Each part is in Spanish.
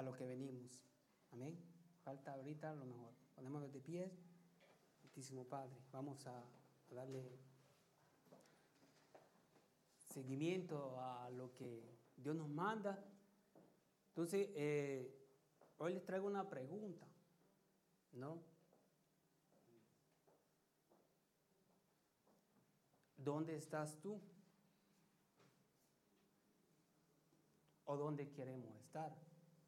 lo que venimos. Amén. Falta ahorita lo mejor. Ponémonos de pie. Santísimo Padre, vamos a darle seguimiento a lo que Dios nos manda. Entonces, hoy les traigo una pregunta, ¿no? ¿Dónde estás tú? ¿O dónde queremos estar?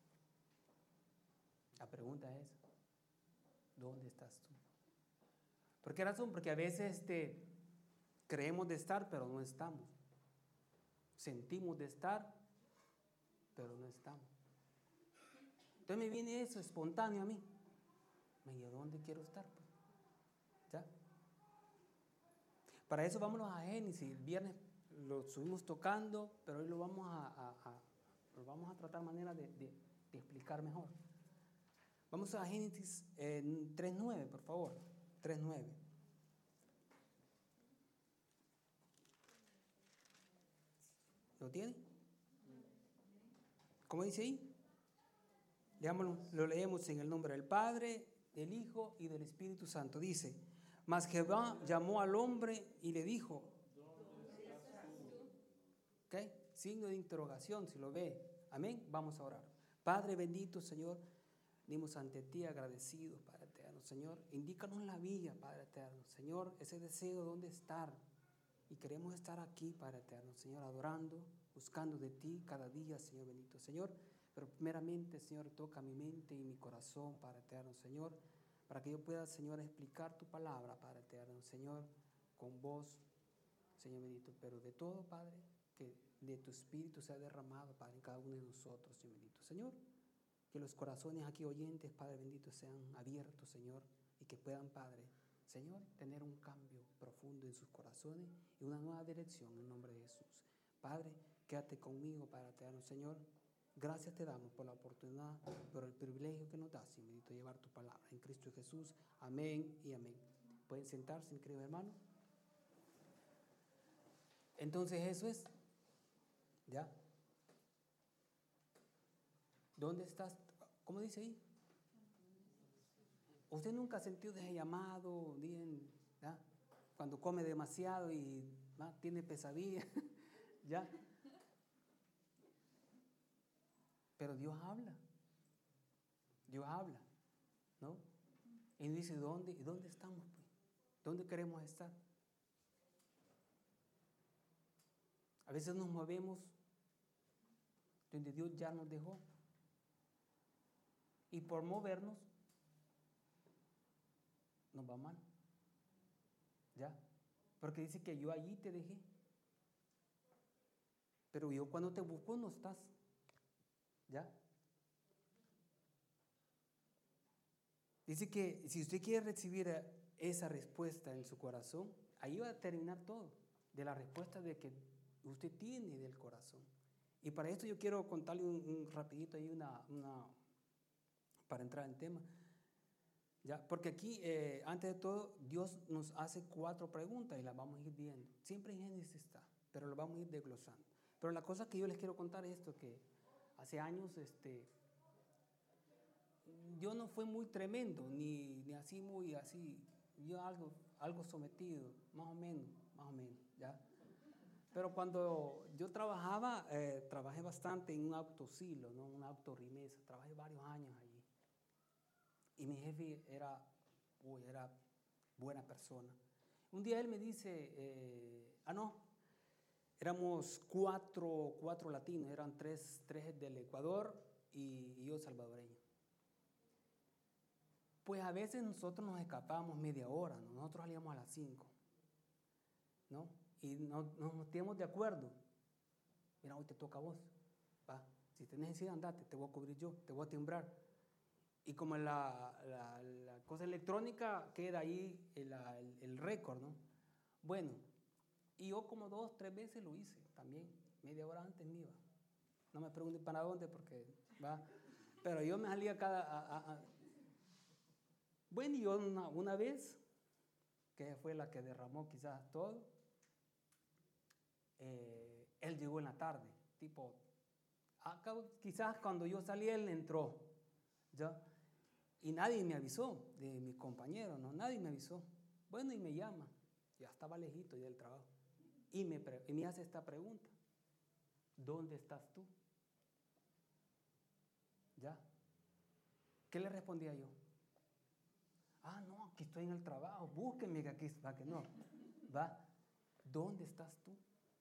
La pregunta es, ¿dónde estás tú? ¿Por qué razón? Porque a veces creemos de estar, pero no estamos. Sentimos de estar, pero no estamos. Entonces me viene eso espontáneo a mí. Me digo, ¿dónde quiero estar? Pues? ¿Ya? Para eso vámonos a Génesis. El viernes lo estuvimos tocando, pero hoy lo vamos a tratar manera de explicar mejor. Vamos a Génesis 3.9, por favor. 3.9. ¿Lo tiene? ¿Cómo dice ahí? Leámoslo, lo leemos en el nombre del Padre, del Hijo y del Espíritu Santo. Dice, mas Jehová llamó al hombre y le dijo, ¿dónde estás tú? ¿Ok? Signo de interrogación, si lo ve. Amén. Vamos a orar. Padre bendito, Señor, venimos ante ti agradecidos, Padre eterno. Señor, indícanos la vía, Padre eterno. Señor, ese deseo de dónde estar. Y queremos estar aquí, Padre eterno, Señor, adorando, buscando de ti cada día, Señor bendito. Señor, pero primeramente, Señor, toca mi mente y mi corazón, Padre eterno, Señor, para que yo pueda, Señor, explicar tu palabra, Padre eterno, Señor, con voz, Señor bendito. Pero de todo, Padre, que de tu Espíritu sea derramado, Padre, en cada uno de nosotros, Señor bendito. Señor, que los corazones aquí oyentes, Padre bendito, sean abiertos, Señor, y que puedan, Padre, Señor, tener un cambio profundo en sus corazones y una nueva dirección en nombre de Jesús. Padre, quédate conmigo, Padre eterno, Señor. Gracias te damos por la oportunidad, por el privilegio que nos das, Señor bendito, llevar tu palabra. En Cristo Jesús, amén y amén. ¿Pueden sentarse, mi querido hermano? Entonces eso es, ¿ya? ¿Dónde estás? ¿Cómo dice ahí? ¿Usted nunca ha sentido ese llamado, ¿ya? Cuando come demasiado y tiene pesadilla? ¿Ya? Pero Dios habla, ¿no? Y dice, ¿dónde estamos? Pues? ¿Dónde queremos estar? A veces nos movemos donde Dios ya nos dejó. Y por movernos, nos va mal. ¿Ya? Porque dice que yo allí te dejé. Pero yo cuando te busco no estás. ¿Ya? Dice que si usted quiere recibir esa respuesta en su corazón, ahí va a terminar todo, de la respuesta de que usted tiene del corazón. Y para esto yo quiero contarle un rapidito ahí para entrar en tema. ¿Ya? Porque aquí, antes de todo, Dios nos hace 4 preguntas y las vamos a ir viendo. Siempre en Génesis está, pero lo vamos a ir desglosando. Pero la cosa que yo les quiero contar es esto, que hace años, yo no fui muy tremendo, ni así muy así, yo algo sometido, más o menos, ¿ya? Pero cuando yo trabajaba, trabajé bastante en un autosilo, ¿no? Una autorimesa, trabajé varios años allí. Y mi jefe era buena persona. Un día él me dice, éramos cuatro latinos, eran tres del Ecuador y yo salvadoreño. Pues a veces nosotros nos escapábamos media hora, ¿no? Nosotros salíamos a las 5, ¿no? Y nos metíamos de acuerdo. Mira, hoy te toca a vos, va. Si tenés necesidad, andate, te voy a cubrir yo, te voy a timbrar. Y como la cosa electrónica queda ahí el récord, ¿no? Bueno, y yo como 2, 3 veces lo hice también, media hora antes me iba. No me pregunten para dónde porque va. Pero yo me salía Bueno, y yo una vez, que fue la que derramó quizás todo, él llegó en la tarde, tipo Quizás cuando yo salí, él entró, ¿ya? Y nadie me avisó, de mis compañeros, ¿no? Nadie me avisó. Bueno, y me llama, ya estaba lejito ya del trabajo, y me hace esta pregunta: ¿dónde estás tú? ¿Ya? ¿Qué le respondía yo? No, aquí estoy en el trabajo, búsquenme que aquí está, que no. ¿Va? ¿Dónde estás tú?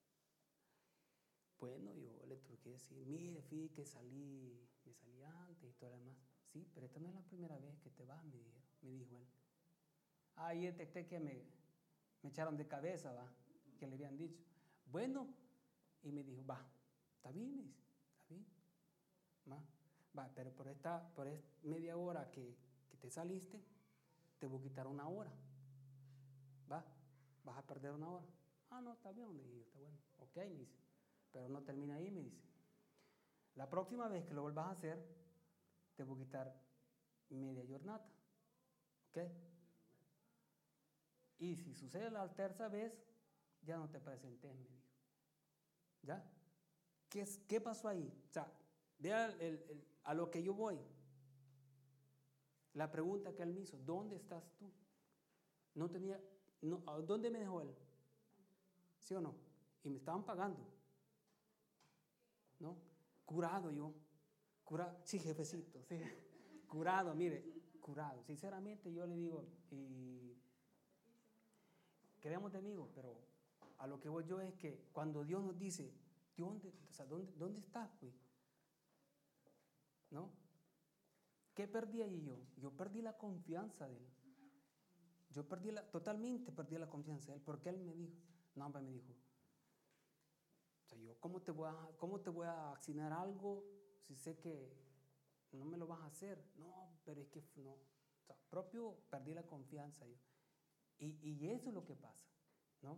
Bueno, yo le tuve que decir, mire, fíjate que me salí antes y todo lo demás. Sí, pero esta no es la primera vez que te vas, me dijo él. Ahí detecté que me echaron de cabeza, va, que le habían dicho. Bueno, y me dijo, va, está bien, me dice, está bien. Va, pero por esta media hora que te saliste, te voy a quitar una hora. Va, vas a perder una hora. No, está bien, le dije, está bueno. Ok, me dice, pero no termina ahí, me dice. La próxima vez que lo vuelvas a hacer, te voy a quitar media jornada. ¿Ok? Y si sucede la tercera vez, ya no te presentes, me dijo. ¿Ya? ¿Qué pasó ahí? O sea, vea a lo que yo voy. La pregunta que él me hizo, ¿dónde estás tú? ¿Dónde me dejó él? ¿Sí o no? Y me estaban pagando. ¿No? Curado yo. Sí, jefecito, sí. Curado, mire, curado. Sinceramente yo le digo, y quedemos de amigos, pero a lo que voy yo es que cuando Dios nos dice, ¿dónde estás, pues? ¿No? ¿Qué perdí ahí yo? Yo perdí la confianza de él. Totalmente perdí la confianza de él, porque él me dijo, no, hombre, me dijo, ¿cómo te voy a asignar algo si sé que no me lo vas a hacer? No, pero es que no. Propio perdí la confianza yo. Y eso es lo que pasa, ¿no?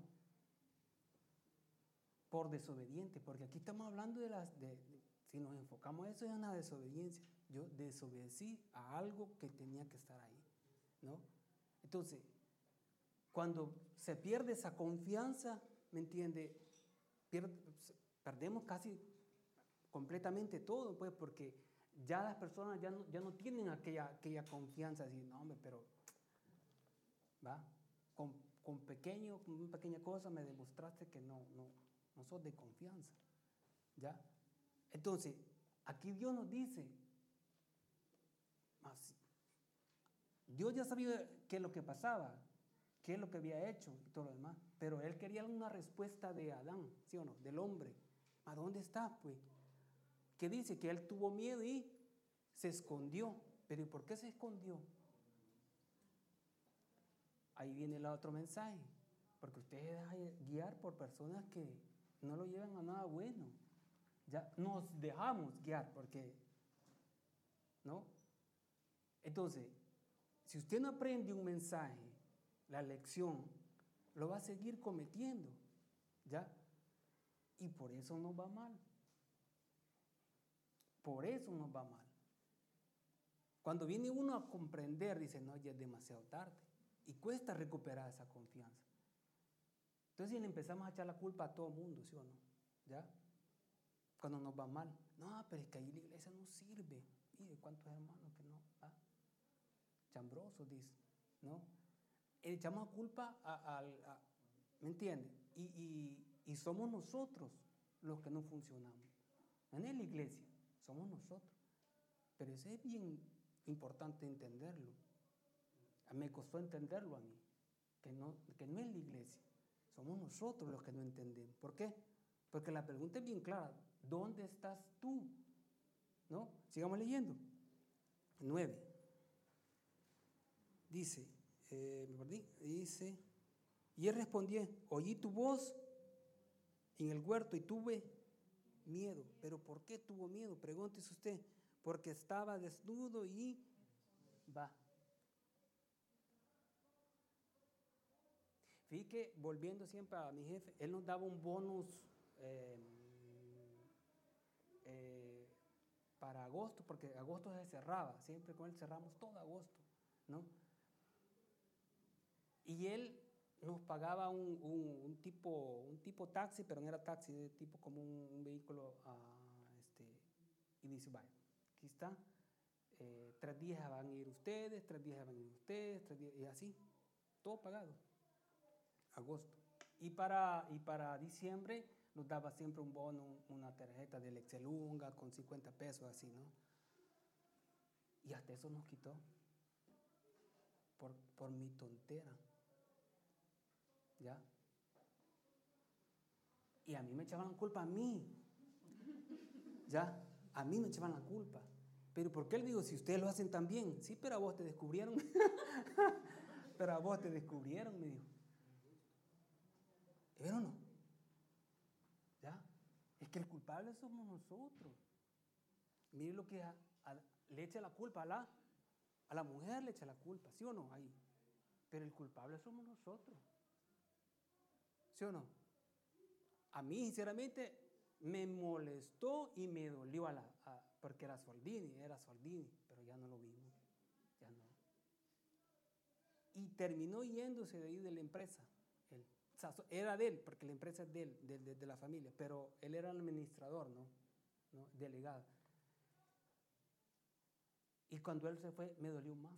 Por desobediente, porque aquí estamos hablando si nos enfocamos en eso, es una desobediencia. Yo desobedecí a algo que tenía que estar ahí, ¿no? Entonces, cuando se pierde esa confianza, ¿me entiende? Perdemos casi completamente todo, pues, porque ya las personas ya no tienen aquella confianza, decir, no, hombre, pero, ¿va? Con una pequeña cosa me demostraste que no sos de confianza, ¿ya? Entonces, aquí Dios nos dice, Dios ya sabía qué es lo que pasaba, qué es lo que había hecho y todo lo demás, pero Él quería una respuesta de Adán, ¿sí o no? Del hombre. ¿A dónde está, pues? Que dice que él tuvo miedo y se escondió. ¿Pero y por qué se escondió? Ahí viene el otro mensaje. Porque usted se deja guiar por personas que no lo llevan a nada bueno. Ya nos dejamos guiar porque, ¿no? Entonces, si usted no aprende un mensaje, la lección, lo va a seguir cometiendo, ¿ya? Y por eso nos va mal. Por eso nos va mal. Cuando viene uno a comprender, dice, no, ya es demasiado tarde. Y cuesta recuperar esa confianza. Entonces le empezamos a echar la culpa a todo el mundo, ¿sí o no? ¿Ya? Cuando nos va mal. No, pero es que ahí la iglesia no sirve. Mire cuántos hermanos que no. Chambrosos, dice. ¿No? Echamos culpa ¿me entiende? Y somos nosotros los que no funcionamos. No es la iglesia, somos nosotros. Pero eso es bien importante entenderlo. Me costó entenderlo a mí, que no es la iglesia. Somos nosotros los que no entendemos. ¿Por qué? Porque la pregunta es bien clara. ¿Dónde estás tú? ¿No? Sigamos leyendo. 9. Dice, me perdí. Dice, y él respondió, oí tu voz en el huerto y tuve miedo. ¿Pero por qué tuvo miedo? Pregúntese usted. Porque estaba desnudo y va. Fíjate que, volviendo siempre a mi jefe, él nos daba un bonus para agosto, porque agosto se cerraba, siempre con él cerramos todo agosto, ¿no? Y él nos pagaba un tipo taxi, pero no era taxi, de tipo como un vehículo y dice, vaya, aquí está, 3 días van a ir ustedes, 3 días van a ir ustedes, 3 días, y así, todo pagado, agosto. Y para diciembre nos daba siempre un bono, una tarjeta del Excelunga con 50 pesos, así, ¿no? Y hasta eso nos quitó por mi tontera, ¿ya? Y a mí me echaban la culpa a mí, ¿ya? A mí me echaban la culpa. Pero ¿por qué le digo, si ustedes lo hacen tan bien? Sí, pero a vos te descubrieron. Pero a vos te descubrieron, me dijo. ¿Pero no? ¿Ya? Es que el culpable somos nosotros. Mire lo que le echa la culpa a la mujer, le echa la culpa, ¿sí o no? Ahí. Pero el culpable somos nosotros. ¿Sí o no? A mí, sinceramente, me molestó y me dolió porque era Soldini, pero ya no lo vimos, ya no. Y terminó yéndose de ahí de la empresa. Era de él, porque la empresa es de él, de la familia, pero él era el administrador, ¿no? Delegado. Y cuando él se fue, me dolió más,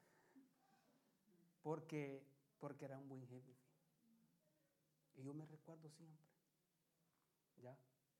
porque era un buen jefe. Y yo me recuerdo siempre, ¿ya?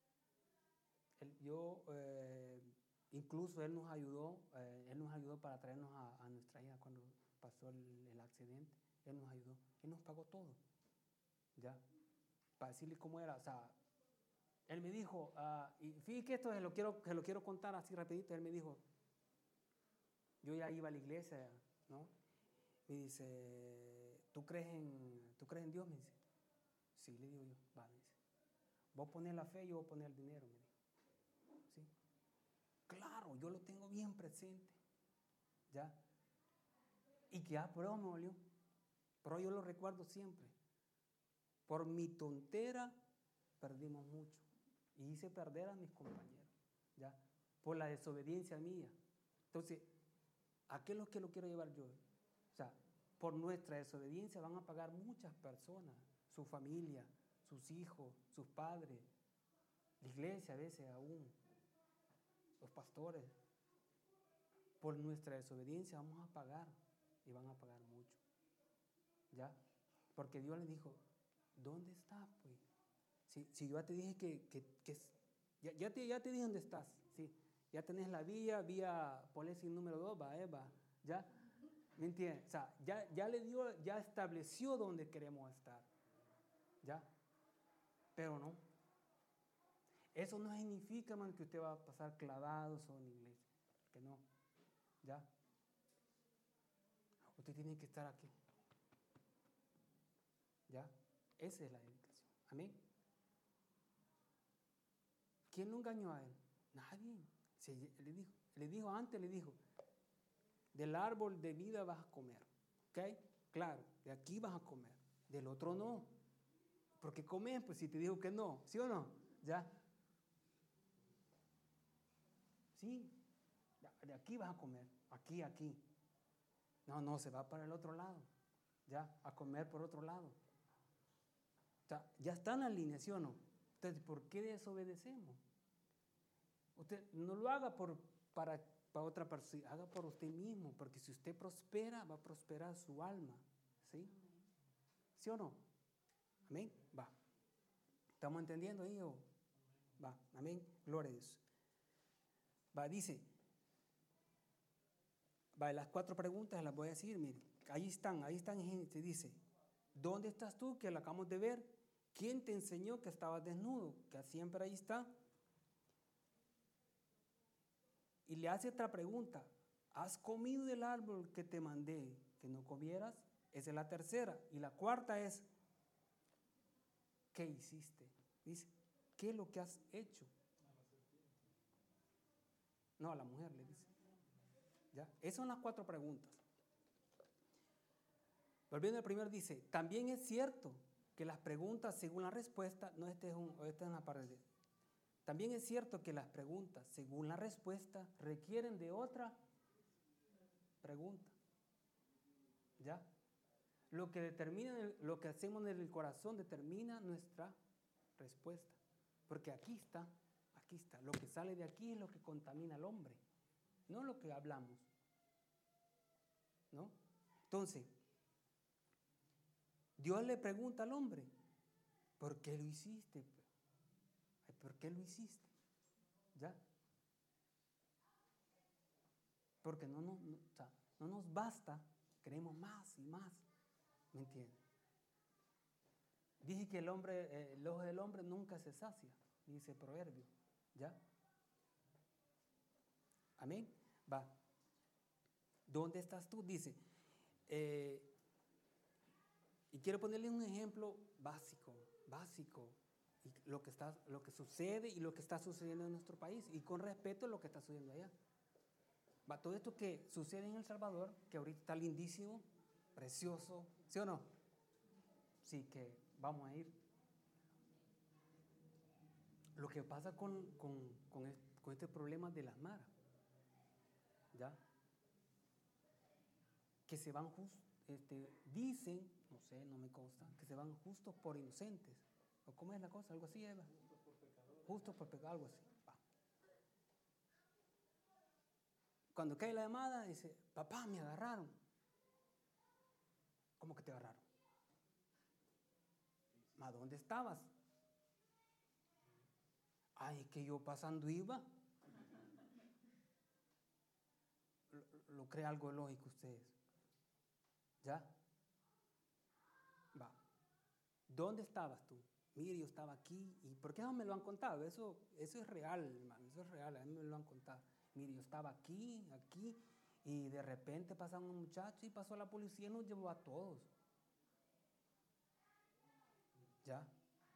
Incluso él nos ayudó para traernos a nuestra hija cuando pasó el accidente. Él nos ayudó, él nos pagó todo, ¿ya? Para decirle cómo era, o sea, él me dijo, y fíjate que esto se lo quiero contar así rapidito. Él me dijo, yo ya iba a la iglesia, ¿no? Me dice, ¿tú crees en Dios? Me dice, sí, le digo yo, va, me dice, vos pones la fe, yo voy a poner el dinero, me dijo. ¿Sí? Claro, yo lo tengo bien presente, ¿ya? Y que prueba me dolió, pero yo lo recuerdo siempre. Por mi tontera perdimos mucho y hice perder a mis compañeros, ¿ya? Por la desobediencia mía. Entonces, ¿a qué es lo que lo quiero llevar yo? O sea, por nuestra desobediencia van a pagar muchas personas, su familia, sus hijos, sus padres, la iglesia a veces aún, los pastores. Por nuestra desobediencia vamos a pagar y van a pagar mucho, ¿ya? Porque Dios les dijo, ¿dónde estás, pues? Si yo ya te dije ya te dije dónde estás, ¿sí? Ya tenés la vía Polesi número 2, va, ¿ya? ¿Me entiendes? O sea, ya estableció dónde queremos estar, ¿ya? Pero no. Eso no significa, hermano, que usted va a pasar clavado solo en la iglesia, que no, ¿ya? Usted tiene que estar aquí, ¿ya? Esa es la dedicación. Amén. ¿Quién lo engañó a él? Nadie. Le dijo, del árbol de vida vas a comer, ¿ok? Claro, de aquí vas a comer, del otro no. Porque comes, pues si te dijo que no, ¿sí o no? ¿Ya? Sí, de aquí vas a comer, aquí. No, se va para el otro lado, ¿ya? A comer por otro lado. O sea, ya está en la línea, ¿sí o no? Entonces, ¿por qué desobedecemos? Usted no lo haga para otra persona, haga por usted mismo, porque si usted prospera, va a prosperar su alma, ¿sí? ¿Sí o no? Amén. Va. ¿Estamos entendiendo ahí? Va. Amén. Gloria a Dios. Va, dice. Va, las 4 preguntas las voy a decir, mire. Ahí están, gente. Dice, ¿dónde estás tú? Que lo acabamos de ver. ¿Quién te enseñó que estabas desnudo? Que siempre ahí está. Y le hace otra pregunta. ¿Has comido del árbol que te mandé que no comieras? Esa es la tercera. Y la cuarta es, ¿qué hiciste? Dice, ¿qué es lo que has hecho? No, a la mujer le dice. ¿Ya? Esas son las 4 preguntas. Volviendo al primero, dice, también es cierto que las preguntas según la respuesta, no, esta es una parte. También es cierto que las preguntas según la respuesta requieren de otra pregunta. ¿Ya? Lo que hacemos en el corazón determina nuestra respuesta. Porque aquí está aquí está, lo que sale de aquí es lo que contamina al hombre, no lo que hablamos, ¿no? Entonces, Dios le pregunta al hombre, ¿por qué lo hiciste? ¿Por qué lo hiciste? ¿Ya? Porque o sea, no nos basta, queremos más y más, ¿me entiendes? Dije que el ojo del hombre nunca se sacia, dice el proverbio, ¿ya? Amén. Va. ¿Dónde estás tú? Dice, y quiero ponerle un ejemplo básico, y lo que sucede y lo que está sucediendo en nuestro país, y con respeto a lo que está sucediendo allá. Va, todo esto que sucede en El Salvador, que ahorita está lindísimo, precioso, ¿sí o no? Sí, que vamos a ir. Lo que pasa con este problema de las maras, ¿ya? Que se van dicen, no sé, no me consta, que se van justos por inocentes. ¿O cómo es la cosa? Algo así, Eva. Justos por pecado, algo así. Va. Cuando cae la llamada, dice, papá, me agarraron. ¿Cómo que te agarraron? ¿A dónde estabas? Ay, es que yo pasando iba. Lo cree algo lógico ustedes. ¿Ya? Va. ¿Dónde estabas tú? Mire, yo estaba aquí. ¿Y por qué no me lo han contado? Eso es real, hermano. Eso es real. A mí me lo han contado. Mire, yo estaba aquí. Y de repente pasaron un muchacho y pasó la policía y nos llevó a todos. ¿Ya?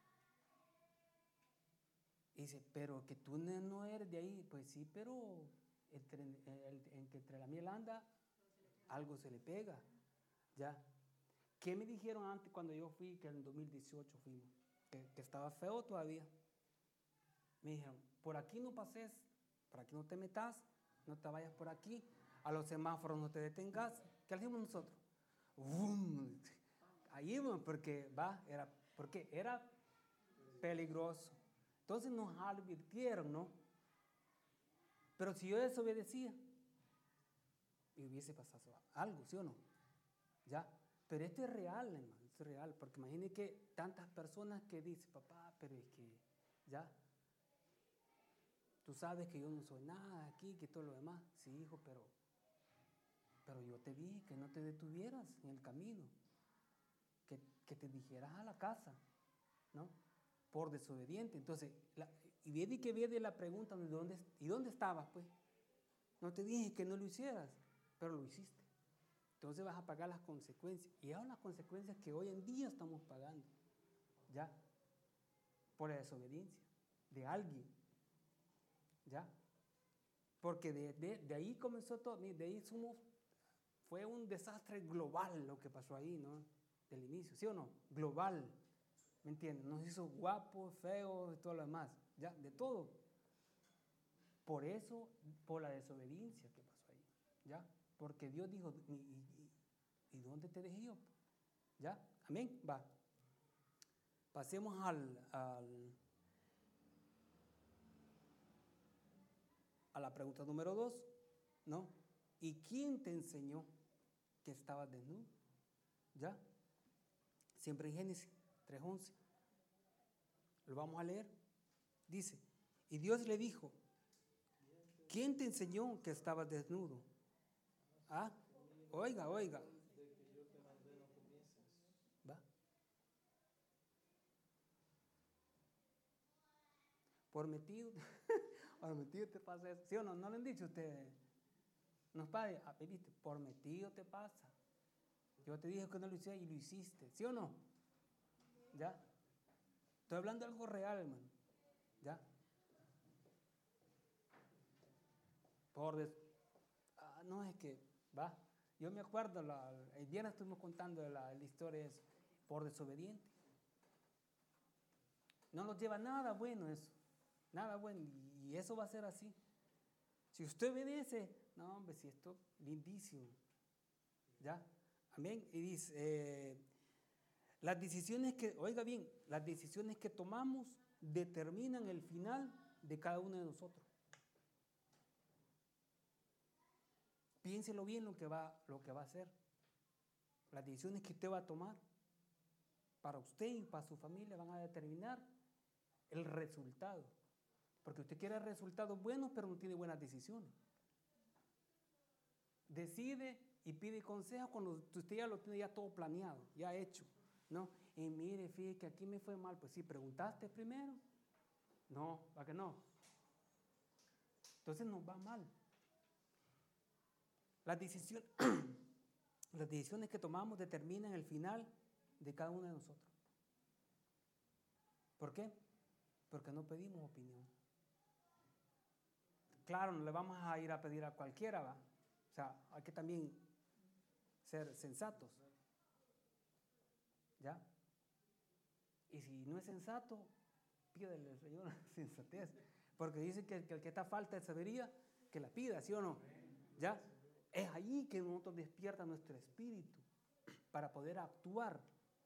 Y dice, pero que tú no eres de ahí. Pues sí, pero entre la miel anda, algo se le pega. ¿Ya? ¿Qué me dijeron antes cuando yo fui, que en 2018 fuimos? Que estaba feo todavía. Me dijeron, por aquí no pases, por aquí no te metas, no te vayas por aquí, a los semáforos no te detengas. ¿Qué hacemos nosotros? ¡Bum! Ahí íbamos, porque era peligroso. Entonces nos advirtieron, ¿no? Pero si yo desobedecía, y hubiese pasado algo, ¿sí o no? ¿Ya? Pero esto es real, hermano, esto es real, porque imagínense que tantas personas que dicen, papá, pero es que, ¿ya? Tú sabes que yo no soy nada aquí, que todo lo demás. Sí, hijo, pero yo te dije que no te detuvieras en el camino, que te dijeras a la casa, ¿no? Por desobediente. Entonces, y viene la pregunta, ¿y dónde estabas, pues? No te dije que no lo hicieras, pero lo hiciste. Entonces vas a pagar las consecuencias. Y son las consecuencias que hoy en día estamos pagando, ¿ya? Por la desobediencia de alguien, ¿ya? Porque de ahí comenzó todo, de ahí fue un desastre global lo que pasó ahí, ¿no? Del inicio, ¿sí o no? Global, ¿me entiendes? Nos hizo guapos, feos y todo lo demás, ¿ya? De todo. Por eso, por la desobediencia que pasó ahí, ¿ya? Porque Dios dijo, ¿y dónde te dejé yo? ¿Ya? Amén, va. Pasemos a la pregunta número 2, ¿no? ¿Y quién te enseñó que estabas desnudo? ¿Ya? Siempre en Génesis 3:11. Lo vamos a leer. Dice, y Dios le dijo, ¿quién te enseñó que estabas desnudo? Ah, oiga. ¿Va? Por metido te pasa eso. ¿Sí o no? ¿No le han dicho ustedes? Nos padre, ¿viste? Por metido te pasa. Yo te dije que no lo hiciera y lo hiciste. ¿Sí o no? ¿Ya? Estoy hablando de algo real, hermano. ¿Ya? No, es que, va. Yo me acuerdo, el viernes estuvimos contando la historia es por desobediente. No nos lleva nada bueno eso. Nada bueno. Y eso va a ser así. Si usted obedece, no, hombre, si esto lindísimo. ¿Ya? Amén. Y dice, las decisiones que tomamos determinan el final de cada uno de nosotros. Piénselo bien lo que va a hacer. Las decisiones que usted va a tomar para usted y para su familia van a determinar el resultado. Porque usted quiere resultados buenos, pero no tiene buenas decisiones. Decide y pide consejo cuando usted ya lo tiene ya todo planeado, ya hecho, ¿no? Y mire, fíjate que aquí me fue mal. Pues sí, ¿preguntaste primero? No, ¿para qué no? Entonces nos va mal. Las decisiones que tomamos determinan el final de cada uno de nosotros. ¿Por qué? Porque no pedimos opinión. Claro, no le vamos a ir a pedir a cualquiera, ¿va? O sea, hay que también ser sensatos. ¿Ya? Y si no es sensato, pídele al Señor sensatez. Porque dice que el que está falta de sabiduría, que la pida, ¿sí o no? ¿Ya? Es allí que nosotros despierta nuestro espíritu para poder actuar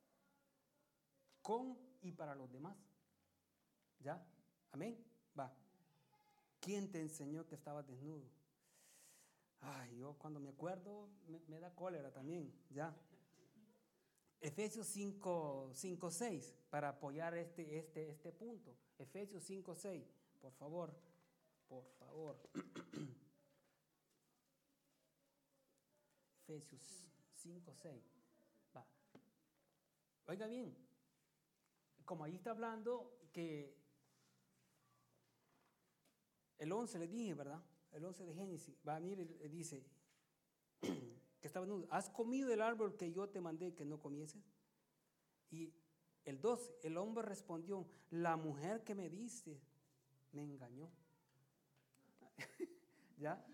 con y para los demás. ¿Ya? Amén. Va. ¿Quién te enseñó que estabas desnudo? Ay, yo cuando me acuerdo me da cólera también. ¿Ya? Efesios 5:6 para apoyar este punto. Efesios 5:6, por favor. Por favor. Efesios 5:6. Va. Oiga bien, como ahí está hablando que el 11 le dije, ¿verdad? El 11 de Génesis. Va, mire, dice que estaba desnudo. ¿Has comido el árbol que yo te mandé que no comieses? Y el 12, el hombre respondió, la mujer que me diste me engañó. ¿Ya?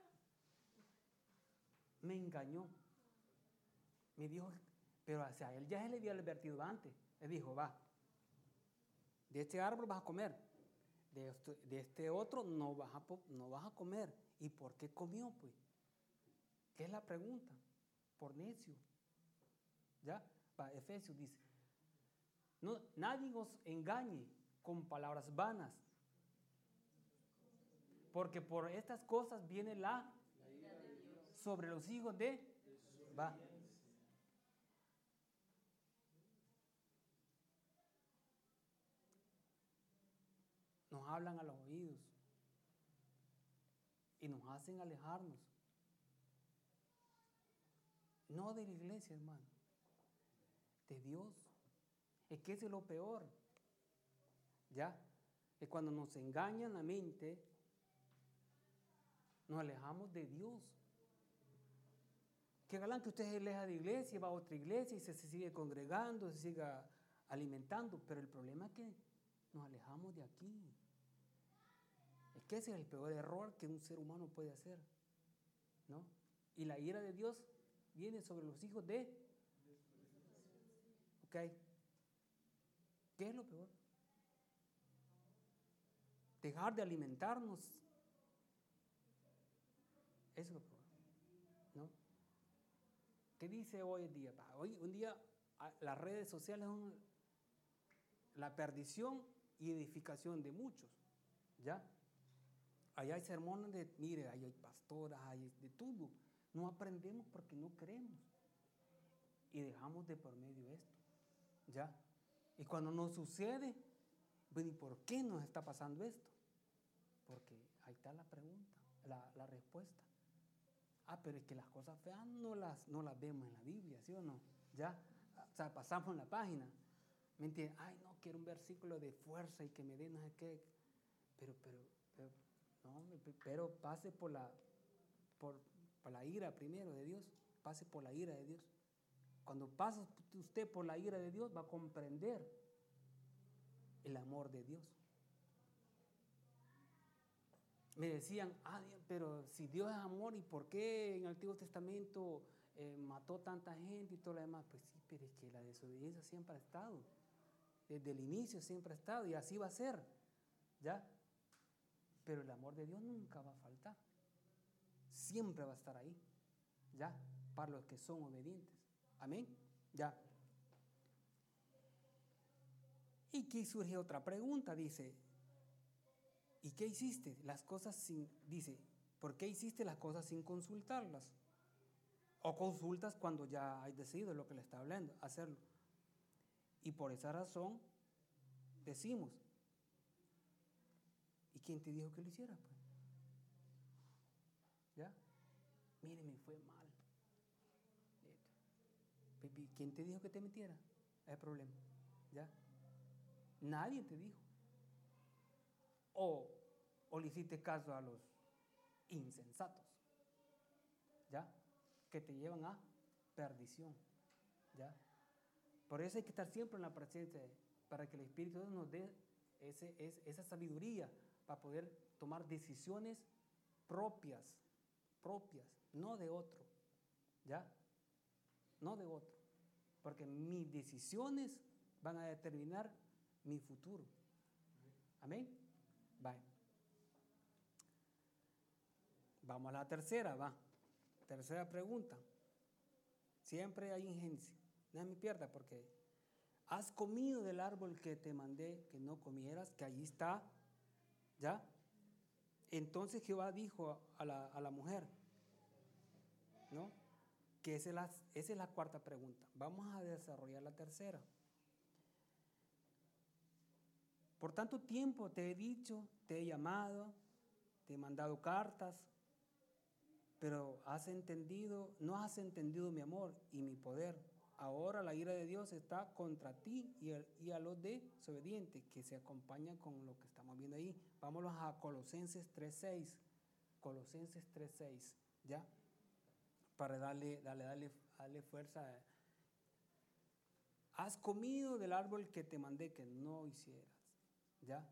Me engañó. Me dijo, pero hacia él ya se le había advertido antes. Le dijo, va, de este árbol vas a comer, de este otro no vas a comer. ¿Y por qué comió, pues? ¿Qué es la pregunta? Por necio. ¿Ya? Va, Efesios dice, no, nadie os engañe con palabras vanas, porque por estas cosas viene la ira de Dios sobre los hijos de va. Nos hablan a los oídos y nos hacen alejarnos. No de la iglesia, hermano, de Dios. Es que eso es lo peor. ¿Ya? Es cuando nos engañan la mente, nos alejamos de Dios. Que galán que usted se aleja de iglesia, va a otra iglesia y se sigue congregando, se siga alimentando, pero el problema es que nos alejamos de aquí. Es que ese es el peor error que un ser humano puede hacer, ¿no? Y la ira de Dios viene sobre los hijos de... ¿Ok? ¿Qué es lo peor? Dejar de alimentarnos. Eso es lo peor, ¿no? ¿Qué dice hoy en día? Hoy un día las redes sociales son la perdición y edificación de muchos, ¿ya? Allá hay sermones de, mire, ahí hay pastoras, hay de todo. No aprendemos porque no creemos. Y dejamos de por medio esto, ¿ya? Y cuando nos sucede, bueno, ¿y por qué nos está pasando esto? Porque ahí está la pregunta, la respuesta. Pero es que las cosas feas no las vemos en la Biblia, ¿sí o no? ¿Ya? O sea, pasamos la página. ¿Me entiendes? Ay, no, quiero un versículo de fuerza y que me dé no sé qué. Pero pase por la ira primero de Dios. Pase por la ira de Dios. Cuando pasa usted por la ira de Dios, va a comprender el amor de Dios. Me decían, pero si Dios es amor, ¿y por qué en el Antiguo Testamento mató tanta gente y todo lo demás? Pues sí, pero es que la desobediencia siempre ha estado. Desde el inicio siempre ha estado y así va a ser, ¿ya? Pero el amor de Dios nunca va a faltar. Siempre va a estar ahí, ¿ya? Para los que son obedientes. Amén, ¿ya? Y aquí surge otra pregunta, dice, ¿Y qué hiciste? Las cosas sin, dice, ¿por qué hiciste las cosas sin consultarlas? O consultas cuando ya hay decidido lo que le está hablando, hacerlo. Y por esa razón decimos, ¿y quién te dijo que lo hiciera? Pues? ¿Ya? Mire, me fue mal. ¿Quién te dijo que te metiera? Es el problema. ¿Ya? Nadie te dijo. O le hiciste caso a los insensatos. ¿Ya? Que te llevan a perdición. ¿Ya? Por eso hay que estar siempre en la presencia para que el Espíritu de Dios nos dé esa sabiduría para poder tomar decisiones propias, no de otro, ¿ya? No de otro, porque mis decisiones van a determinar mi futuro. Amén. Bye. Vamos a la tercera, va. Tercera pregunta. Siempre hay injerencia. No me pierda porque has comido del árbol que te mandé que no comieras, que allí está, ¿ya? Entonces Jehová dijo a la mujer, ¿no? Que esa es la cuarta pregunta. Vamos a desarrollar la tercera. Por tanto tiempo te he dicho, te he llamado, te he mandado cartas, pero no has entendido mi amor y mi poder. Ahora la ira de Dios está contra ti y a los desobedientes, que se acompañan con lo que estamos viendo ahí. Vámonos a Colosenses 3:6. Colosenses 3:6, ¿ya? Para darle fuerza. Has comido del árbol que te mandé que no hicieras, ¿ya?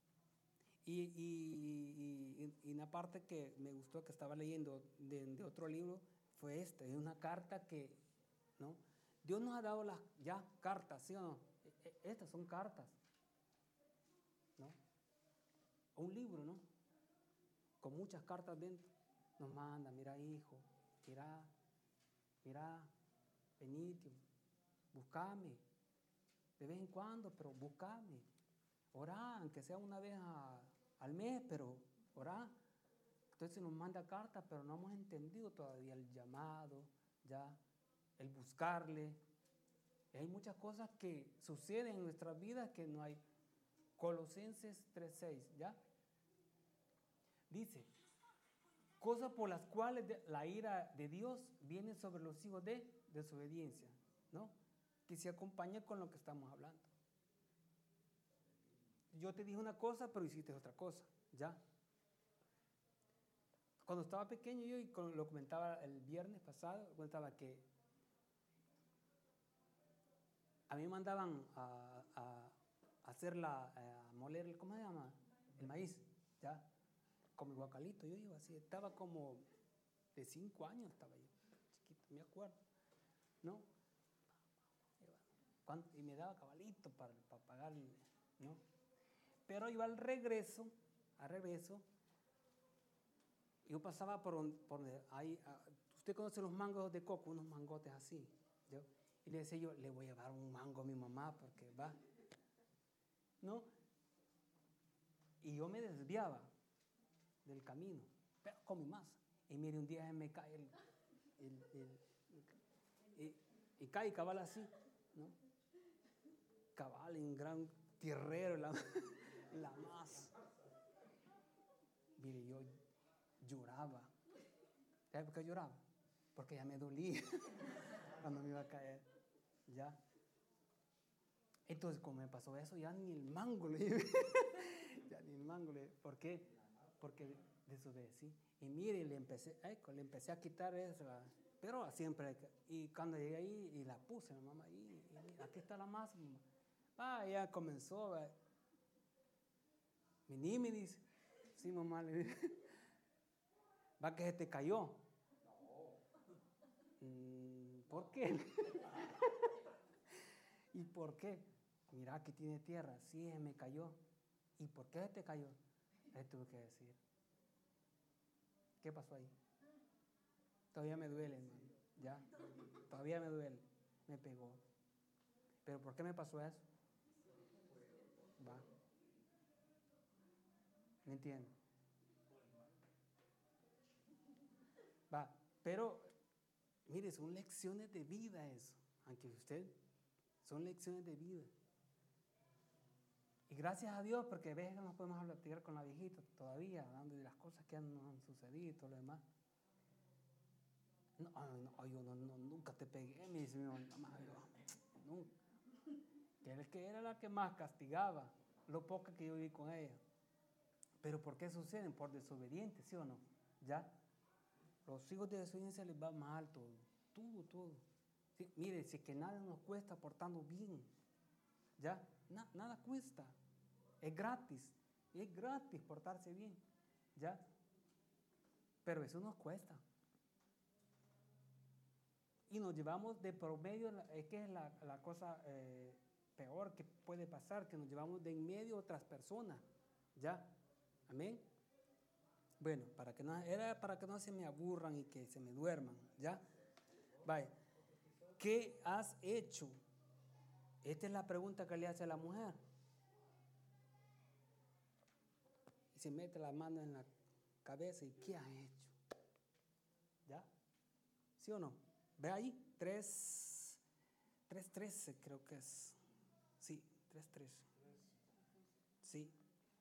Y una parte que me gustó que estaba leyendo de otro libro fue esta, es una carta que, ¿no? Dios nos ha dado las ya cartas, ¿sí o no? Estas son cartas, ¿no? Un libro, ¿no? Con muchas cartas dentro. Nos manda, mira hijo, mira, venite, buscame, de vez en cuando, pero buscame. Orá, aunque sea una vez al mes, pero orá. Entonces nos manda cartas, pero no hemos entendido todavía el llamado, ya, el buscarle. Y hay muchas cosas que suceden en nuestras vidas que no hay. Colosenses 3:6, ¿ya? Dice, cosas por las cuales la ira de Dios viene sobre los hijos de desobediencia, ¿no? Que se acompaña con lo que estamos hablando. Yo te dije una cosa, pero hiciste otra cosa, ¿ya? Cuando estaba pequeño yo, y lo comentaba el viernes pasado, comentaba que a mí me mandaban a moler, ¿cómo se llama? El maíz, ¿ya? Con mi guacalito, yo iba así, estaba como de 5 años, estaba yo, chiquito, me acuerdo, ¿no? Y me daba cabalito para pagar, ¿no? Pero iba al regreso, yo pasaba por ahí, usted conoce los mangos de coco, unos mangotes así, ¿yo? Y le decía yo, le voy a llevar un mango a mi mamá porque va, ¿no? Y yo me desviaba del camino, pero comí más. Y mire, un día me cae y cae cabal así, ¿no? Cabal en gran tierrero, la más. Mire, yo lloraba. ¿Sabes por qué lloraba? Porque ya me dolía cuando me iba a caer, ¿ya? Entonces, como me pasó eso, ya ni el mango le llevé. Ya ni el mango le llevé. ¿Por qué? Porque desobedecí. Y mire, le empecé a quitar eso, pero siempre. Y cuando llegué ahí, y la puse, mi mamá, ahí, y mira, aquí está la masa, mamá. Ya comenzó, vení, me dice. Sí, mamá, le dije. Va que se te cayó. ¿Por qué? ¿Y por qué? Mira que tiene tierra. Sí, me cayó. ¿Y por qué se te cayó? Le tuve que decir. ¿Qué pasó ahí? Todavía me duele, hermano. ¿Ya? Todavía me duele. Me pegó. ¿Pero por qué me pasó eso? Va. ¿Me entiende? Va, pero mire, son lecciones de vida eso, aunque usted, son lecciones de vida. Y gracias a Dios, porque a veces no nos podemos platicar con la viejita todavía, hablando de las cosas que han sucedido y todo lo demás. No, yo nunca te pegué, me dice mi mamá, nunca. Que era la que más castigaba, lo poco que yo viví con ella. Pero ¿por qué suceden? Por desobedientes, ¿sí o no? ¿Ya? Los hijos de desobediencia les va mal todo. Sí, mire, si es que nada nos cuesta portarnos bien, ¿ya? Nada cuesta. Es gratis portarse bien, ¿ya? Pero eso nos cuesta. Y nos llevamos de promedio, es que es la cosa peor que puede pasar, que nos llevamos de en medio a otras personas, ¿ya? Amén. Bueno, era para que no se me aburran y que se me duerman, ¿ya? Vaya, ¿qué has hecho? Esta es la pregunta que le hace a la mujer. Y se mete la mano en la cabeza y ¿qué has hecho? ¿Ya? ¿Sí o no? Ve ahí, 3:13 creo que es. Sí, 3:13. Sí.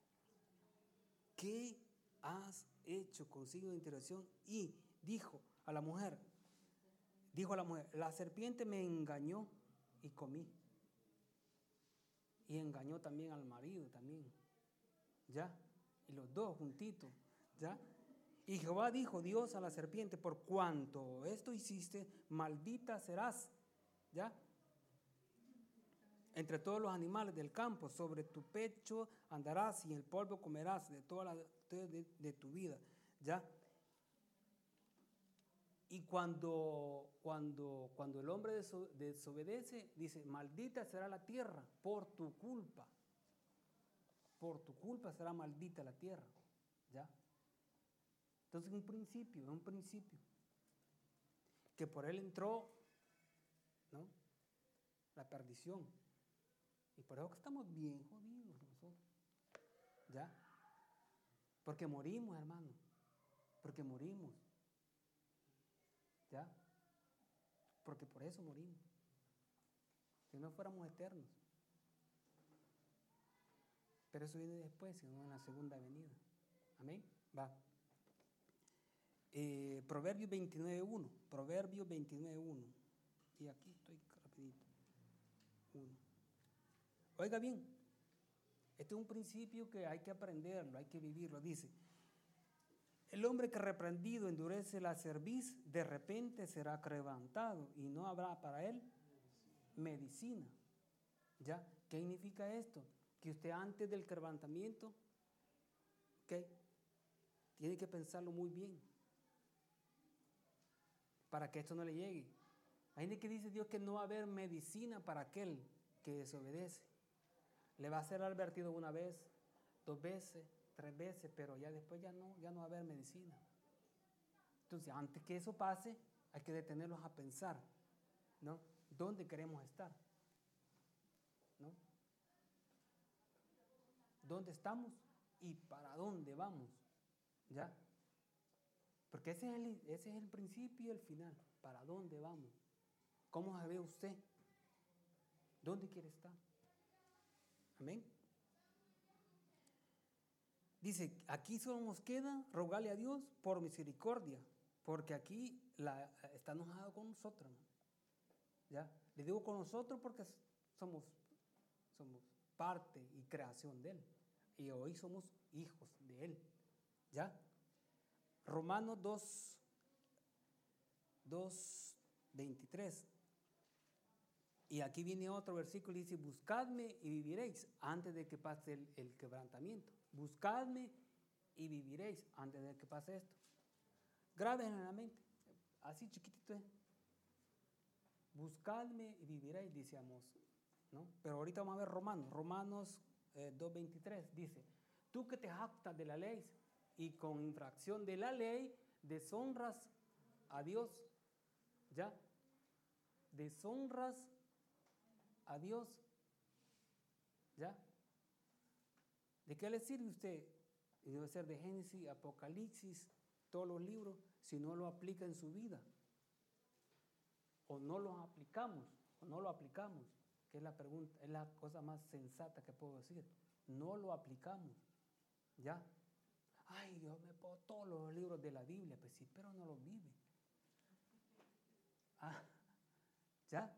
¿Qué has hecho con signo de interrogación? Y dijo a la mujer, la serpiente me engañó y comí. Y engañó también al marido también. ¿Ya? Y los dos juntitos. ¿Ya? Y Jehová dijo Dios a la serpiente, por cuanto esto hiciste, maldita serás. ¿Ya? Entre todos los animales del campo, sobre tu pecho andarás y el polvo comerás de toda de tu vida. ¿Ya? Y cuando el hombre desobedece, dice, maldita será la tierra por tu culpa. Por tu culpa será maldita la tierra. ¿Ya? Entonces es un principio. Que por él entró, ¿no?, la perdición. Y por eso que estamos bien jodidos nosotros. ¿Ya? Porque morimos, hermano. Porque morimos. ¿Ya? Porque por eso morimos. Si no fuéramos eternos. Pero eso viene después, sino en la segunda venida. Amén. Va. Proverbios 29:1. Proverbios 29:1. Y aquí estoy rapidito. 1. Oiga bien, este es un principio que hay que aprenderlo, hay que vivirlo. Dice, el hombre que reprendido endurece la cerviz, de repente será quebrantado y no habrá para él medicina. ¿Ya? ¿Qué significa esto? Que usted antes del quebrantamiento, ¿okay?, tiene que pensarlo muy bien para que esto no le llegue. Hay gente que dice Dios que no va a haber medicina para aquel que desobedece. Le va a ser advertido una vez, 2 veces, 3 veces, pero ya después ya no va a haber medicina. Entonces, antes que eso pase, hay que detenerlos a pensar, ¿no?, ¿dónde queremos estar? ¿No? ¿Dónde estamos y para dónde vamos? ¿Ya? Porque ese es el principio y el final. ¿Para dónde vamos? ¿Cómo se ve usted? ¿Dónde quiere estar? Amén. Dice, aquí solo nos queda rogarle a Dios por misericordia, porque aquí está enojado con nosotros. ¿Ya? Le digo con nosotros porque somos parte y creación de Él. Y hoy somos hijos de Él. ¿Ya? Romanos 2:23. Y aquí viene otro versículo y dice, buscadme y viviréis antes de que pase el quebrantamiento. Buscadme y viviréis antes de que pase esto. Grábenlo en la mente, así chiquitito es. Buscadme y viviréis, dice Amós, ¿no? Pero ahorita vamos a ver Romanos 2:23, dice, tú que te jactas de la ley y con infracción de la ley deshonras a Dios, ¿ya? Deshonras a Dios, ¿ya? ¿De qué le sirve usted y debe ser de Génesis, Apocalipsis, todos los libros, si no lo aplica en su vida. O no lo aplicamos, que es la pregunta, es la cosa más sensata que puedo decir. No lo aplicamos, ¿ya? Ay, yo me pongo todos los libros de la Biblia, pues sí, pero no los vive. Ah, ¿ya?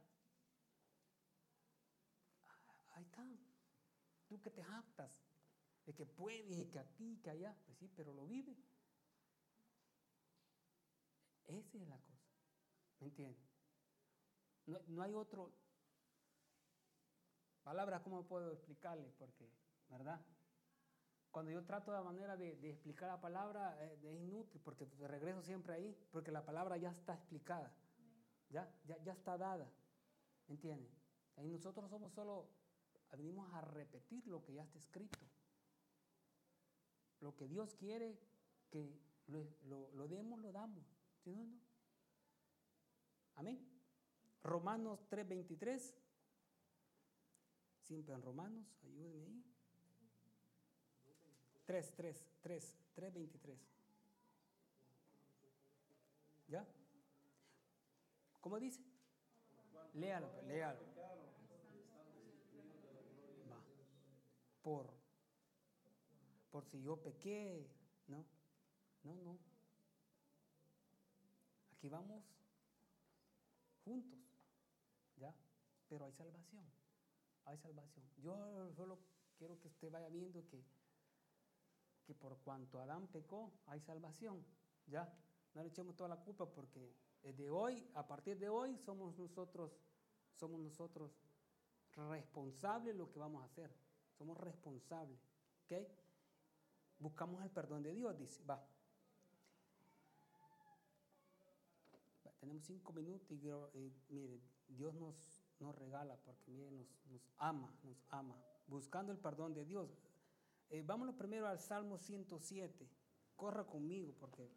Ahí está. Tú que te jactas de que puedes y que aquí y que allá, pues sí, pero lo vive. Esa es la cosa, ¿me entiendes? No hay otro palabra, ¿cómo puedo explicarle? Porque, ¿verdad? Cuando yo trato de manera de explicar la palabra, es inútil, porque regreso siempre ahí, porque la palabra ya está explicada, ya está dada, ¿me entienden? Y nosotros somos solo, venimos a repetir lo que ya está escrito. Lo que Dios quiere que lo demos, lo damos. ¿Sí o no? Amén. Romanos 3:23. Siempre en Romanos, ayúdenme ahí. 3:23. ¿Ya? ¿Cómo dice? Léalo. Va. Por si yo pequé, no. Aquí vamos juntos, ¿ya? Pero hay salvación. Yo solo quiero que usted vaya viendo que por cuanto Adán pecó, hay salvación, ¿ya? No le echemos toda la culpa porque desde hoy, a partir de hoy, somos nosotros responsables de lo que vamos a hacer. Somos responsables, ¿ok? Buscamos el perdón de Dios, dice, va. Tenemos 5 minutos y mire, Dios nos regala porque mire, nos ama. Buscando el perdón de Dios. Vámonos primero al Salmo 107. Corra conmigo porque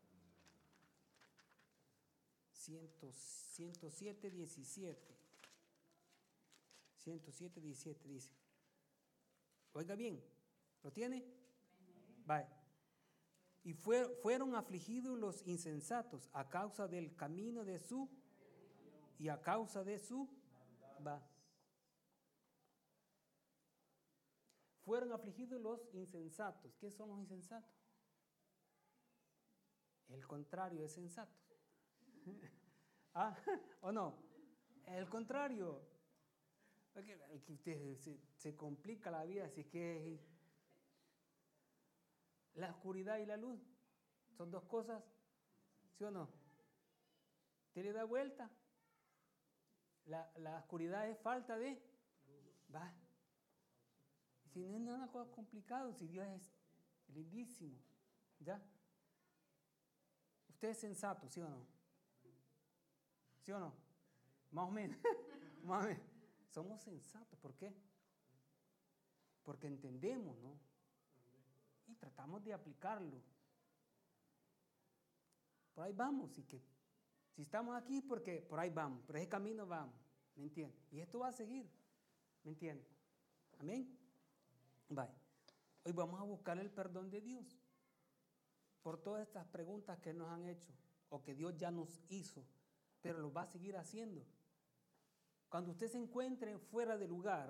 107, 17. 107, 17 dice. Oiga bien, ¿lo tiene? Vaya. Y fueron afligidos los insensatos a causa del camino de su y a causa de su va. Fueron afligidos los insensatos. ¿Qué son los insensatos? El contrario de sensatos. ¿Ah? ¿O no? El contrario. Que usted se complica la vida, así que la oscuridad y la luz son dos cosas, ¿sí o no? ¿Usted le da vuelta? La oscuridad es falta de va. Si no es nada complicado, si Dios es lindísimo, ¿ya? Usted es sensato, ¿sí o no? ¿Sí o no? Más o menos. Más o menos. Somos sensatos, ¿por qué? Porque entendemos, ¿no? Y tratamos de aplicarlo. Por ahí vamos, y que si estamos aquí, porque por ahí vamos, por ese camino vamos, ¿me entiendes? Y esto va a seguir, ¿me entiendes? Amén. Bye. Hoy vamos a buscar el perdón de Dios por todas estas preguntas que nos han hecho o que Dios ya nos hizo, pero lo va a seguir haciendo. Cuando usted se encuentre fuera de lugar,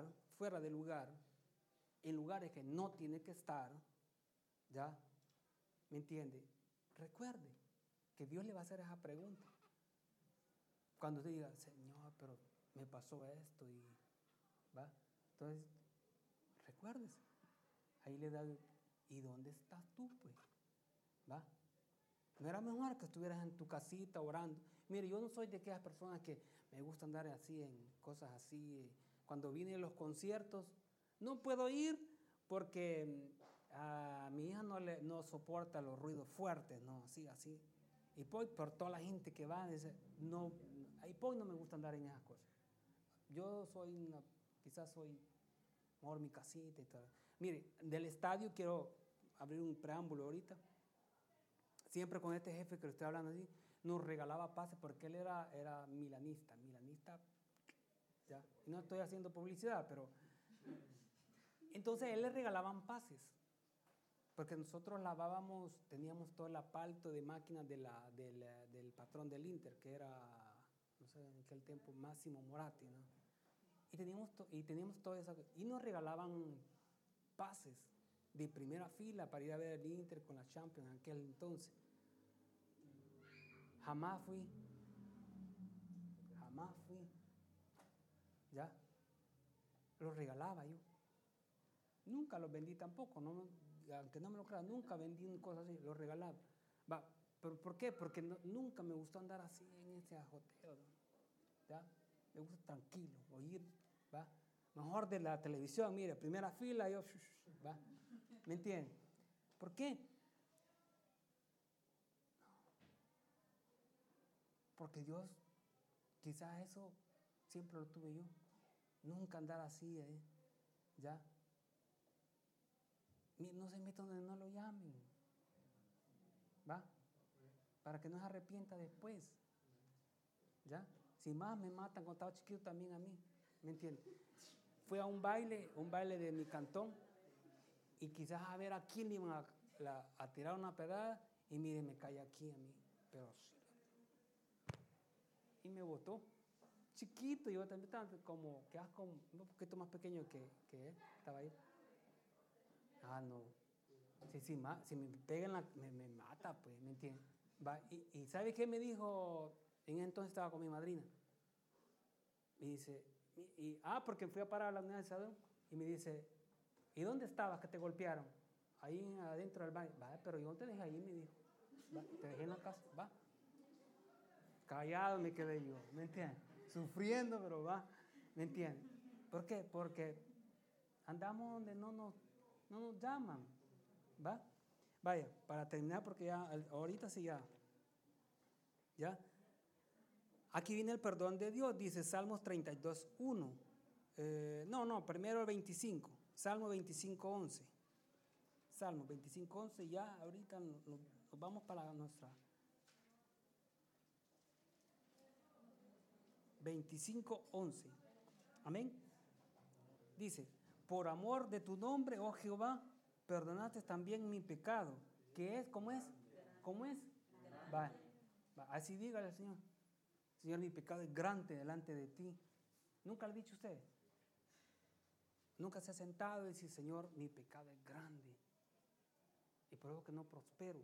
en lugares que no tiene que estar, ¿ya? ¿Me entiende? Recuerde que Dios le va a hacer esa pregunta. Cuando usted diga, Señor, pero me pasó esto y va. Entonces, recuérdese. Ahí le da, ¿y dónde estás tú, pues? ¿Va? ¿No era mejor que estuvieras en tu casita orando? Mire, yo no soy de aquellas personas que me gusta andar así en cosas así. Cuando vienen los conciertos, no puedo ir porque a mi hija no soporta los ruidos fuertes, ¿no? Así. Y por toda la gente que va, no, ahí no me gusta andar en esas cosas. Yo quizás soy mejor mi casita y todo. Mire, del estadio quiero abrir un preámbulo ahorita. Siempre con este jefe que le estoy hablando así, nos regalaba pases porque él era milanista, ¿ya? Y no estoy haciendo publicidad, pero entonces a él le regalaban pases. Porque nosotros lavábamos, teníamos todo el apalto de máquinas del patrón del Inter, que era, no sé, en aquel tiempo Máximo Moratti, ¿no? Y teníamos todo eso. Y nos regalaban pases de primera fila para ir a ver el Inter con la Champions en aquel entonces. Jamás fui. ¿Ya? Los regalaba yo. Nunca los vendí tampoco, ¿no? Aunque no me lo crean, nunca vendí cosas así, los regalaba. Va, ¿pero por qué? Porque nunca me gustó andar así en ese ajoteo, ¿no? ¿Ya? Me gusta tranquilo, oír, ¿va? Mejor de la televisión, mire, primera fila, yo, ¿va? ¿Me entienden? ¿Por qué? Porque Dios, quizás eso siempre lo tuve yo. Nunca andar así, ¿ya? No se meta donde no lo llamen, ¿va? Para que no se arrepienta después, ¿ya? Si más me matan cuando estaba chiquito también a mí, ¿me entiendes? Fui a un baile de mi cantón, y quizás a ver a quién le iban a tirar una pedrada, y mire, me cae aquí a mí, pero sí. Y me botó. Chiquito, yo también estaba como, quedas como un poquito más pequeño que él, estaba ahí. Ah, no. Si me pegan, me mata, pues, ¿me entiendes? Y ¿sabe qué me dijo? En ese entonces estaba con mi madrina. Me dice, porque fui a parar a la unidad de salud, y me dice, ¿y dónde estabas que te golpearon? Ahí adentro del baño. Va, pero yo no te dejé ahí, me dijo. Va, te dejé en la casa, va. Callado me quedé yo, ¿me entiendes? Sufriendo, pero va, ¿me entiendes? ¿Por qué? Porque andamos donde no nos llaman, ¿va? Vaya, para terminar, porque ya, ahorita sí ya. Aquí viene el perdón de Dios, dice Salmos 32:1. Primero el 25, Salmo 25:11. Salmo 25:11, ya ahorita nos vamos para nuestra 25:11. Amén. Dice, por amor de tu nombre, oh Jehová, perdonaste también mi pecado. ¿Qué es? ¿Cómo es? ¿Cómo es? Va, así dígale al Señor. Señor, mi pecado es grande delante de ti. ¿Nunca le ha dicho usted? Nunca se ha sentado y dice, Señor, mi pecado es grande. Y por eso que no prospero.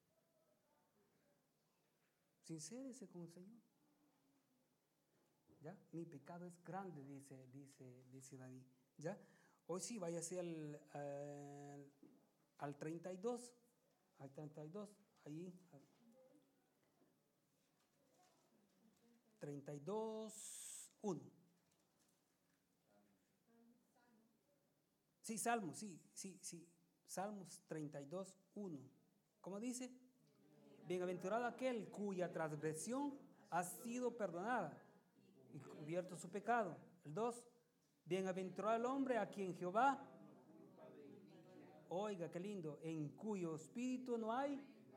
Sincérese con el Señor. ¿Ya? Mi pecado es grande, dice David. ¿Ya? Hoy sí, váyase al 32. Al 32, ahí. 32:1. Sí, Salmos, sí. Salmos 32:1. ¿Cómo dice? Bienaventurado aquel cuya transgresión ha sido perdonada y cubierto su pecado. El 2. Bienaventurado el hombre a quien Jehová, oiga qué lindo, en cuyo espíritu no hay.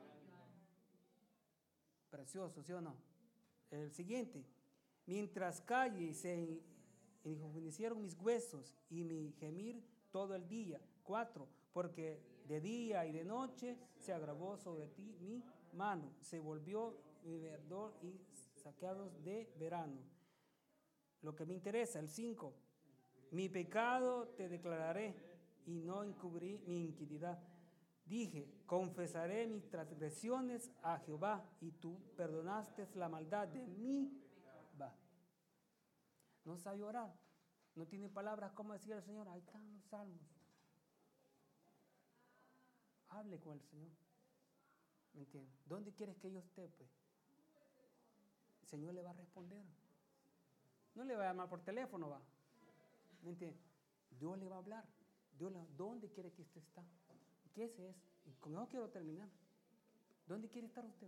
Precioso, ¿sí o no? El siguiente. Mientras calle y se enjuvenecieron mis huesos y mi gemir todo el día. 4. Porque de día y de noche se agravó sobre ti mi mano, se volvió mi verdor y saqueados de verano. Lo que me interesa, el 5. Mi pecado te declararé y no encubrí mi iniquidad. Dije, confesaré mis transgresiones a Jehová y tú perdonaste la maldad de mí. Va. No sabe orar. No tiene palabras como decir al Señor. Ahí están los salmos. Hable con el Señor. ¿Me entiende? ¿Dónde quieres que yo esté, pues? El Señor le va a responder. No le va a llamar por teléfono, va. ¿Me entiende? Dios le va a hablar. ¿Dónde quiere que usted está? ¿Qué es eso? Y con eso quiero terminar. ¿Dónde quiere estar usted?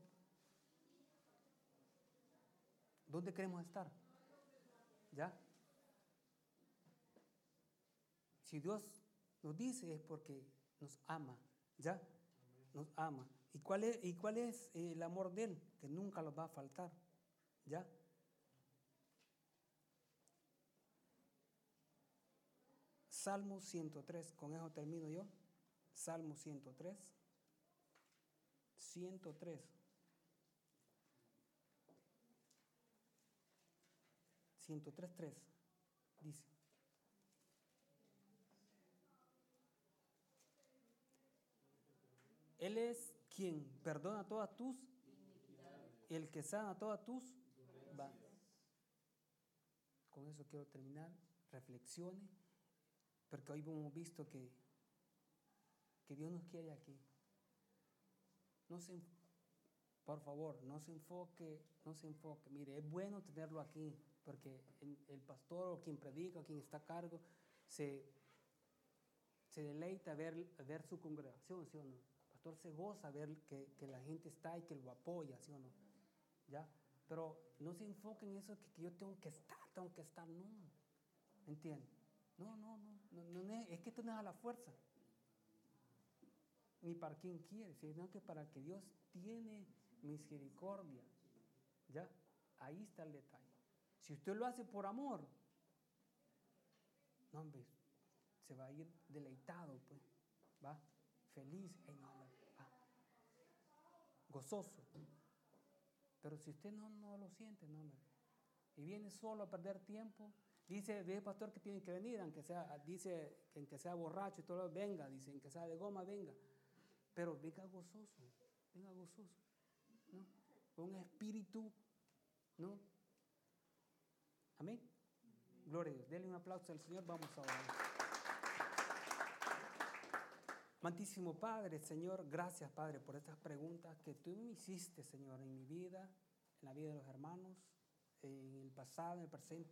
¿Dónde queremos estar? ¿Ya? Si Dios nos dice es porque nos ama, ¿ya? Nos ama. ¿Y cuál es el amor de Él? Que nunca nos va a faltar, ¿ya? Salmo 103, con eso termino yo. Salmo 103. 103. 103:3 dice: Él es quien perdona todas tus, el que sana todas tus va. Con eso quiero terminar. Reflexione, porque hoy hemos visto que Dios nos quiere aquí. No se, por favor, no se enfoque. Mire, es bueno tenerlo aquí, porque el pastor o quien predica o quien está a cargo se deleita a ver su congregación, ¿sí o no? El pastor se goza a ver que la gente está y que lo apoya, ¿sí o no? ¿Ya? Pero no se enfoque en eso que yo tengo que estar, no. ¿Entiende? No, es que esto no es a la fuerza. Ni para quien quiere, sino que para que Dios tiene misericordia. ¿Ya? Ahí está el detalle. Si usted lo hace por amor, no, hombre, se va a ir deleitado, pues, va, feliz, no, va, gozoso. Pero si usted no lo siente, no, hombre, y viene solo a perder tiempo, dice el pastor que tiene que venir, aunque sea borracho y todo, venga, dice, aunque sea de goma, venga, pero venga gozoso, ¿no? Con un espíritu, ¿no? Amén. Gloria a Dios. Denle un aplauso al Señor. Vamos a orar. Amantísimo Padre, Señor, gracias, Padre, por estas preguntas que tú me hiciste, Señor, en mi vida, en la vida de los hermanos, en el pasado, en el presente.